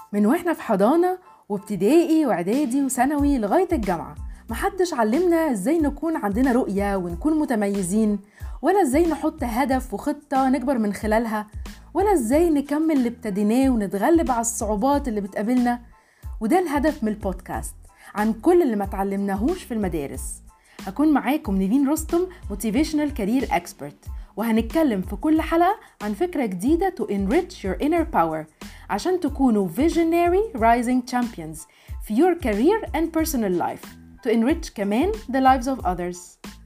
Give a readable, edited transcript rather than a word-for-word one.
من واحنا في حضانة وابتدائي واعدادي وثانوي لغاية الجامعة، محدش علمنا ازاي نكون عندنا رؤية ونكون متميزين، ولا ازاي نحط هدف وخطة نكبر من خلالها، ولا ازاي نكمل اللي ابتديناه ونتغلب على الصعوبات اللي بتقابلنا. وده الهدف من البودكاست، عن كل اللي ما تعلمناهوش في المدارس. هكون معاكم نيفين رستم، Motivational Career Expert، وهنتكلم في كل حلقة عن فكرة جديدة to enrich your inner power عشان تكونوا visionary rising champions في your career and personal life to enrich كمان the lives of others.